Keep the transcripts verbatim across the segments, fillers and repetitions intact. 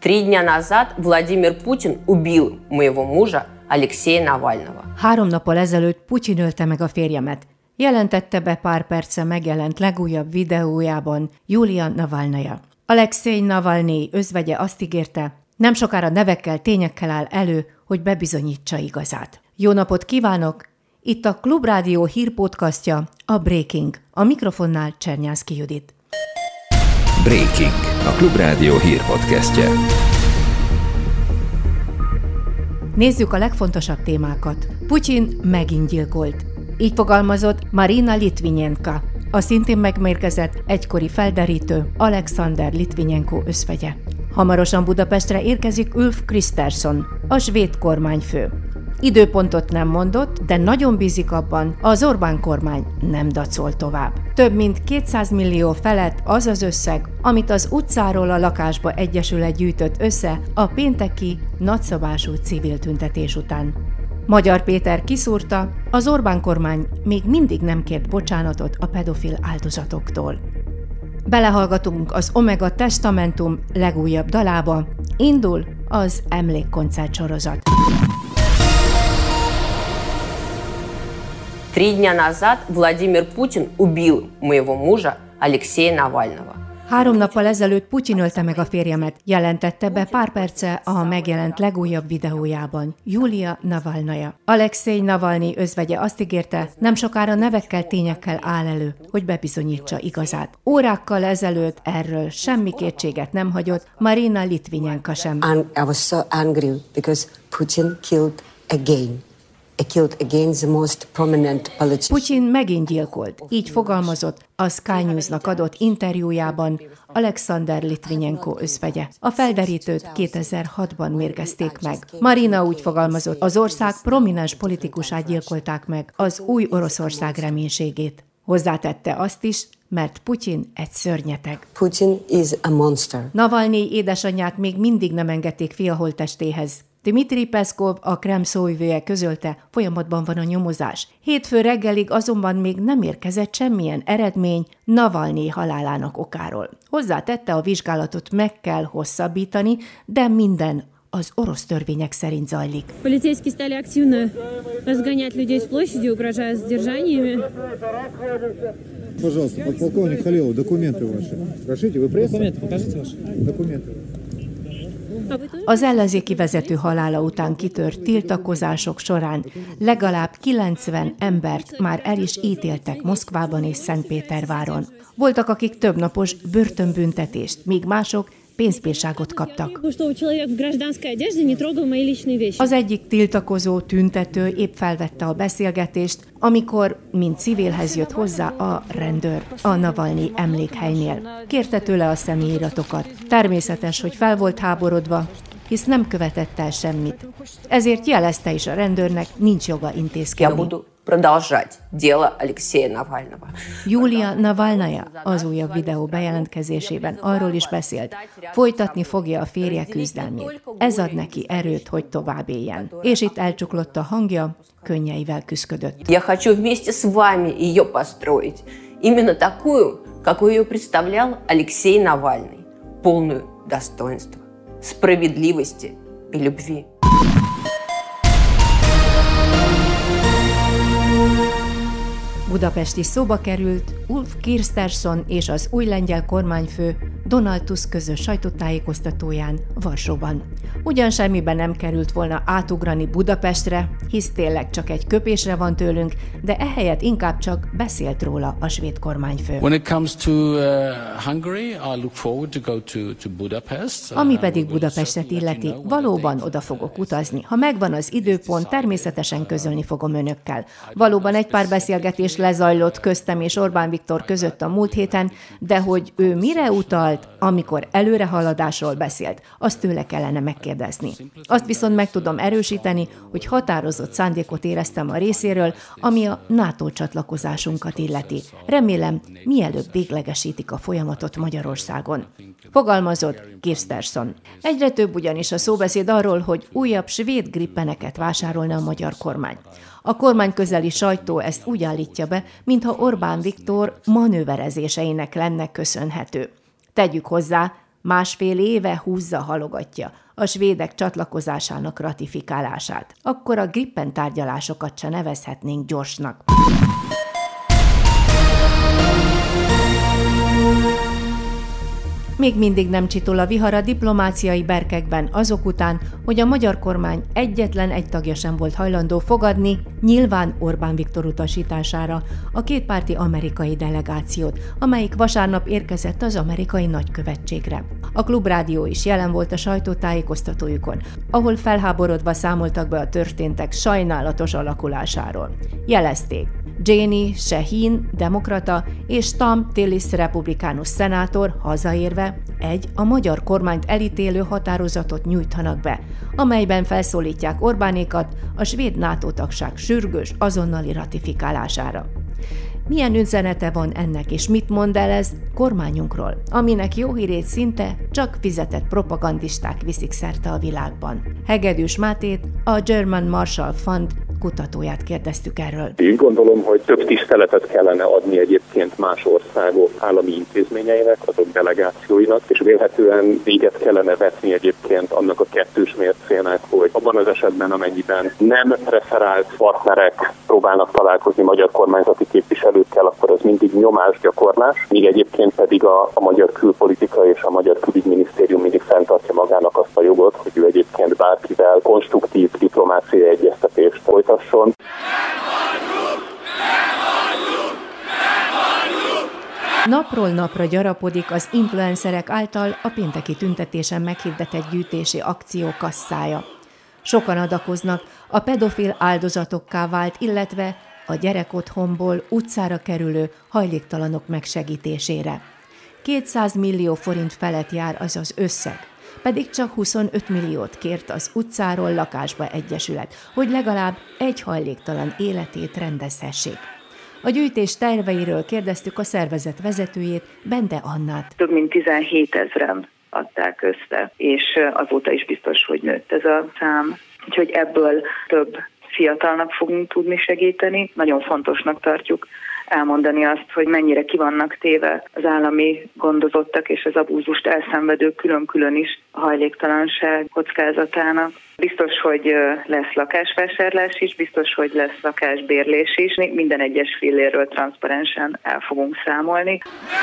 Три дня назад Владимир Путин убил моего мужа Алексея Навального. Három nappal ezelőtt Putyin ölte meg a férjemet. Jelentette be pár perce megjelent legújabb videójában Julia Navalnaja. Alexej Navalnyi özvegye azt ígérte, nem sokára nevekkel, tényekkel áll elő, hogy bebizonyítsa igazát. Jó napot kívánok! Itt a Klubrádió hírpodcastja, a Breaking. A mikrofonnál Csernyánszky Judit. Breaking, a Klubrádió hírpodcastje. Nézzük a legfontosabb témákat. Putyin megint gyilkolt. Így fogalmazott Marina Litvinenko, a szintén megmérgezett egykori felderítő Alexander Litvinenko özvegye. Hamarosan Budapestre érkezik Ulf Kristersson, a svéd kormányfő. Időpontot nem mondott, de nagyon bízik abban, az Orbán kormány nem dacol tovább. Több mint kétszáz millió felett az az összeg, amit az utcáról a lakásba egyesület gyűjtött össze a pénteki nagyszabású civil tüntetés után. Magyar Péter kiszúrta, az Orbán kormány még mindig nem kért bocsánatot a pedofil áldozatoktól. Belehallgatunk az Omega Testamentum legújabb dalába, indul az emlékkoncert sorozat. Три дня назад Владимир Путин убил моего мужа Алексея Навального. Három nappal ezelőtt Putyin ölte meg a férjemet, jelentette be pár perce a megjelent legújabb videójában Julia Navalnaja. Alexej Navalnyi özvegye azt ígérte, nem sokára nevekkel, tényekkel áll elő, hogy bebizonyítsa igazát. Órákkal ezelőtt erről semmi kétséget nem hagyott Marina Litvinenko sem. I was so angry because Putin killed again. Putyin megint gyilkolt, így fogalmazott a Sky News-nak adott interjújában Alexander Litvinenko özvegye. A felderítőt kétezer-hatban mérgezték meg. Marina úgy fogalmazott, az ország prominens politikusát gyilkolták meg, az új Oroszország reménységét. Hozzátette azt is, mert Putyin egy szörnyeteg. Putin is a monster. Navalnyi édesanyját még mindig nem engedték fia holttestéhez. Dmitri Peszkov, a Kreml szóvivője közölte, folyamatban van a nyomozás. Hétfő reggelig azonban még nem érkezett semmilyen eredmény Navalnyi halálának okáról. Hozzátette, a vizsgálatot meg kell hosszabbítani, de minden az orosz törvények szerint zajlik. Полицейские стали активно разгонять людей с площади, угрожая задержаниями. Пожалуйста, подполковник Халилов, документы ваши. Прошу, вы пресса? Документы, покажите ваши. Документы. Az ellenzéki vezető halála után kitört tiltakozások során legalább kilencven embert már el is ítéltek Moszkvában és Szentpéterváron. Voltak, akik többnapos börtönbüntetést, míg mások pénzbírságot kaptak. Az egyik tiltakozó tüntető épp felvette a beszélgetést, amikor, mint civilhez jött hozzá a rendőr a Navalnyi emlékhelynél. Kérte tőle a személyiratokat. Természetes, hogy fel volt háborodva, hisz nem követett el semmit. Ezért jelezte is a rendőrnek, nincs joga intézkedni. Продолжать дело Алексея Навального. Julia Navalnaja az újabb videó bejelentkezésében arról is beszélt, folytatni fogja a férje küzdelmét. Ez ad neki erőt, hogy tovább éljen. És itt elcsuklott a hangja, könnyeivel küszködött. Я хочу вместе с вами ее построить. Именно такую, какую ее представлял Алексей Навальный. Полную достоинства, справедливости и любви. Budapest is szóba került, Ulf Kristersson és az új lengyel kormányfő Donald Tusk közös sajtótájékoztatóján Varsóban. Ugyan semmiben nem került volna átugrani Budapestre, hisz tényleg csak egy köpésre van tőlünk, de ehelyett inkább csak beszélt róla a svéd kormányfő. When it comes to uh, Hungary, I look forward to go to, to Budapest. Ami pedig Budapestet illeti, valóban oda fogok utazni. Ha megvan az időpont, természetesen közölni fogom önökkel. Valóban egy pár beszélgetés lezajlott köztem és Orbán Viktor között a múlt héten, de hogy ő mire utalt, amikor előrehaladásról beszélt, azt tőle kellene megkérdezni. Azt viszont meg tudom erősíteni, hogy határozott szándékot éreztem a részéről, ami a NATO csatlakozásunkat illeti. Remélem, mielőbb véglegesítik a folyamatot Magyarországon. Fogalmazott Kristersson. Egyre több ugyanis a szóbeszéd arról, hogy újabb svéd grippeneket vásárolna a magyar kormány. A kormányközeli sajtó ezt úgy állítja be, mintha Orbán Viktor manőverezéseinek lenne köszönhető. Tegyük hozzá, másfél éve húzza, halogatja a svédek csatlakozásának ratifikálását. Akkor a Gripen tárgyalásokat se nevezhetnénk gyorsnak. Még mindig nem csitul a vihar a diplomáciai berkekben azok után, hogy a magyar kormány egyetlen egy tagja sem volt hajlandó fogadni, nyilván Orbán Viktor utasítására, a kétpárti amerikai delegációt, amelyik vasárnap érkezett az amerikai nagykövetségre. A Klubrádió is jelen volt a sajtótájékoztatójukon, ahol felháborodva számoltak be a történtek sajnálatos alakulásáról. Jelezték, Jenny Shaheen, demokrata, és Tom Tillis, republikánus szenátor hazaérve egy a magyar kormányt elítélő határozatot nyújtanak be, amelyben felszólítják Orbánékat a svéd NATO tagság sürgős azonnali ratifikálására. Milyen üzenete van ennek, és mit mond el ez kormányunkról, aminek jó hírét szinte csak fizetett propagandisták viszik szerte a világban? Hegedűs Mátét, a German Marshall Fund kutatóját kérdeztük erről. Én gondolom, hogy több tiszteletet kellene adni egyébként más országok állami intézményeinek, azok delegációinak, és vélhetően véget kellene vetni egyébként annak a kettős mércének, hogy abban az esetben, amennyiben nem referált partnerek próbálnak találkozni magyar kormányzati képviselőkkel, akkor az mindig nyomásgyakorlás, míg egyébként pedig a, a magyar külpolitika és a magyar külügyminisztérium mindig fenntartja magának azt a jogot, hogy ő egyébként bárkivel konstruktív diplomáciai egyeztetést folytasson. Napról napra gyarapodik az influencerek által a pénteki tüntetésen meghirdetett gyűjtési akció kasszája. Sokan adakoznak a pedofil áldozatokká vált, illetve a gyerekotthonból utcára kerülő hajléktalanok megsegítésére. kétszáz millió forint felett jár az az összeg, pedig csak huszonöt milliót kért az Utcáról lakásba egyesület, hogy legalább egy hajléktalan életét rendezhessék. A gyűjtés terveiről kérdeztük a szervezet vezetőjét, Bende Annát. Több mint tizenhét ezren adták össze, és azóta is biztos, hogy nőtt ez a szám. Úgyhogy ebből több fiatalnak fogunk tudni segíteni. Nagyon fontosnak tartjuk elmondani azt, hogy mennyire ki vannak téve az állami gondozottak és az abúzust elszenvedők külön-külön is a hajléktalanság kockázatának. Biztos, hogy lesz lakásvásárlás is, biztos, hogy lesz lakásbérlés is. Minden egyes fillérről transzparensen el fogunk számolni.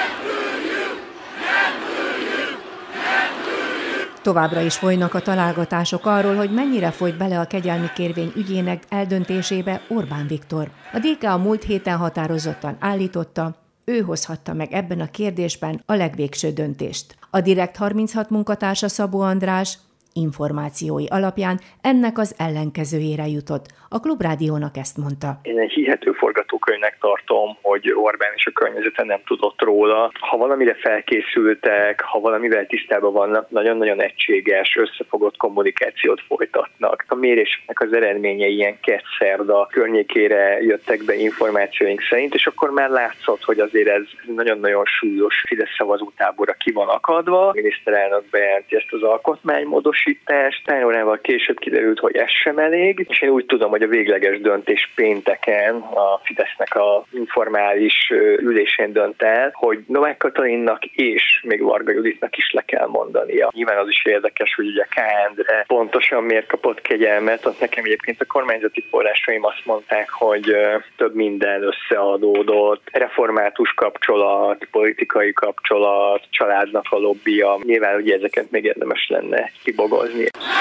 Továbbra is folynak a találgatások arról, hogy mennyire folyt bele a kegyelmi kérvény ügyének eldöntésébe Orbán Viktor. A dé ká a múlt héten határozottan állította, ő hozhatta meg ebben a kérdésben a legvégső döntést. A Direkt harminchat munkatársa Szabó András információi alapján ennek az ellenkezőjére jutott. A Klubrádiónak ezt mondta. Én egy hihető forgatókönyvnek tartom, hogy Orbán és a környezete nem tudott róla. Ha valamire felkészültek, ha valamivel tisztában vannak, nagyon-nagyon egységes, összefogott kommunikációt folytatnak. A mérésnek az eredményei ilyen kedd-szerda környékére jöttek be információink szerint, és akkor már látszott, hogy azért ez nagyon-nagyon súlyos Fidesz szavazótáborra ki van akadva. A miniszterelnök bejelenti ezt az alkotmánymódosítást, pár órával később kiderült, hogy ez sem elég, és én úgy tudom, hogy a végleges döntés pénteken a Fidesznek a informális ülésén dönt el, hogy Novák Katalinnak és még Varga Juditnak is le kell mondania. Nyilván az is érdekes, hogy ugye K. Endre pontosan miért kapott kegyelmet, azt nekem egyébként a kormányzati forrásaim azt mondták, hogy több minden összeadódott, református kapcsolat, politikai kapcsolat, családnak a lobbija. Nyilván ugye ezeket még érdemes lenne kibogozni.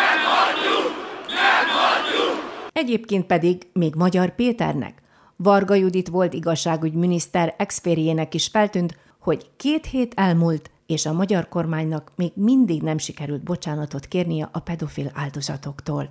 Egyébként pedig még Magyar Péternek, Varga Judit volt igazságügyminiszter ex-férjének is feltűnt, hogy két hét elmúlt, és a magyar kormánynak még mindig nem sikerült bocsánatot kérnie a pedofil áldozatoktól.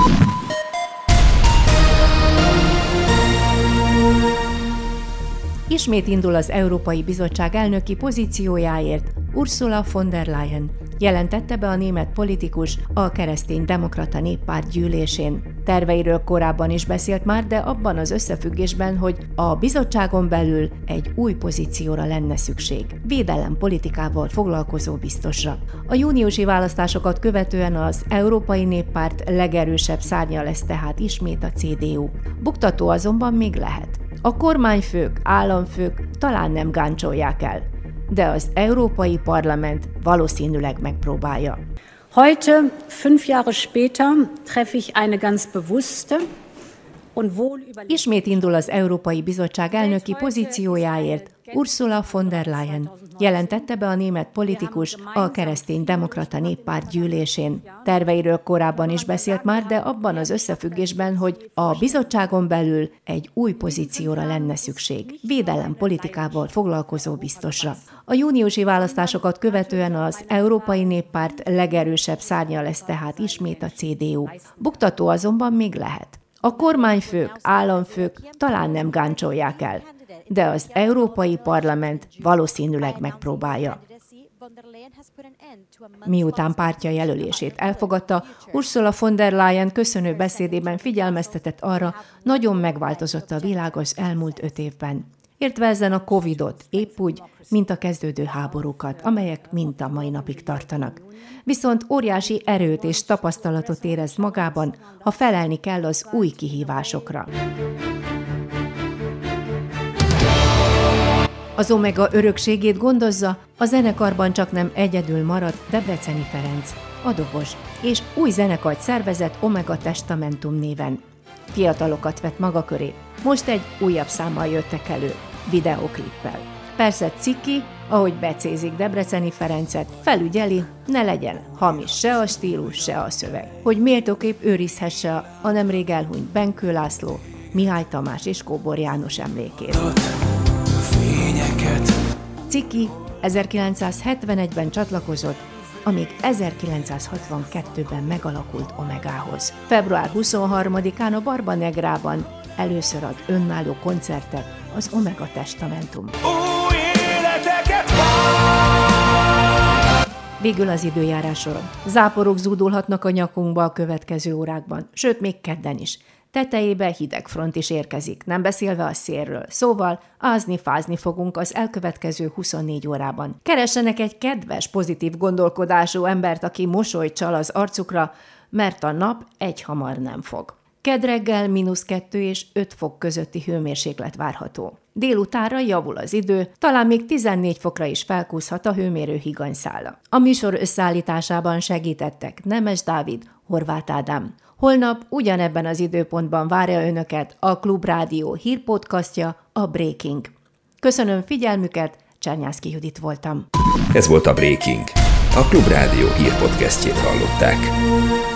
Ismét indul az Európai Bizottság elnöki pozíciójáért Ursula von der Leyen, jelentette be a német politikus a Keresztény-demokrata Néppárt gyűlésén. Terveiről korábban is beszélt már, de abban az összefüggésben, hogy a bizottságon belül egy új pozícióra lenne szükség, védelempolitikával foglalkozó biztosra. A júniusi választásokat követően az Európai Néppárt legerősebb szárnya lesz tehát ismét a cé dé u. Buktató azonban még lehet. A kormányfők, államfők talán nem gáncsolják el, de az Európai Parlament valószínűleg megpróbálja. Heute, fünf Jahre später, treffe ich eine ganz bewusste und wohl überlegte... Ismét indul az Európai Bizottság elnöki pozíciójáért Ursula von der Leyen. Jelentette be a német politikus a Keresztény-demokrata Néppárt gyűlésén. Terveiről korábban is beszélt már, de abban az összefüggésben, hogy a bizottságon belül egy új pozícióra lenne szükség. Védelem politikával foglalkozó biztosra. A júniusi választásokat követően az Európai Néppárt legerősebb szárnya lesz tehát ismét a cé dé u. Buktató azonban még lehet. A kormányfők, államfők talán nem gáncsolják el, de az Európai Parlament valószínűleg megpróbálja. Miután pártja jelölését elfogadta, Ursula von der Leyen köszönő beszédében figyelmeztetett arra, nagyon megváltozott a világ az elmúlt öt évben. Értve ezen a Covidot, épp úgy, mint a kezdődő háborúkat, amelyek mind a mai napig tartanak. Viszont óriási erőt és tapasztalatot érez magában, ha felelni kell az új kihívásokra. Az Omega örökségét gondozza, a zenekarban csak nem egyedül marad Debreceni Ferenc, a dobos, és új zenekart szervezett Omega Testamentum néven. Fiatalokat vett maga köré. Most egy újabb számmal jöttek elő, videóklippel. Persze Ciki, ahogy becézik Debreceni Ferencet, felügyeli, ne legyen hamis se a stílus, se a szöveg. Hogy méltóképp őrizhesse a nemrég elhunyt Benkő László, Mihály Tamás és Kóbor János emlékét. Ciki ezerkilencszázhetvenegyben csatlakozott, amíg ezerkilencszázhatvankettőben megalakult Omegához. február huszonharmadikán a Barba Negrában először ad önálló koncertet az Omega Testamentum. Végül az időjárásról. Záporok zúdulhatnak a nyakunkba a következő órákban, sőt még kedden is. Tetejébe hideg front is érkezik, nem beszélve a szélről. Szóval ázni-fázni fogunk az elkövetkező huszonnégy órában. Keressenek egy kedves, pozitív gondolkodású embert, aki mosolyt csal az arcukra, mert a nap egyhamar nem fog. Kedd reggel mínusz kettő és öt fok közötti hőmérséklet várható. Délutánra javul az idő, talán még tizennégy fokra is felkúszhat a hőmérő higanyszála. A műsor összeállításában segítettek Nemes Dávid, Horváth Ádám. Holnap ugyanebben az időpontban várja önöket a Klubrádió hírpodcastja, a Breaking. Köszönöm figyelmüket, Csernyászki Judit voltam. Ez volt a Breaking. A Klubrádió hírpodcastjét hallották.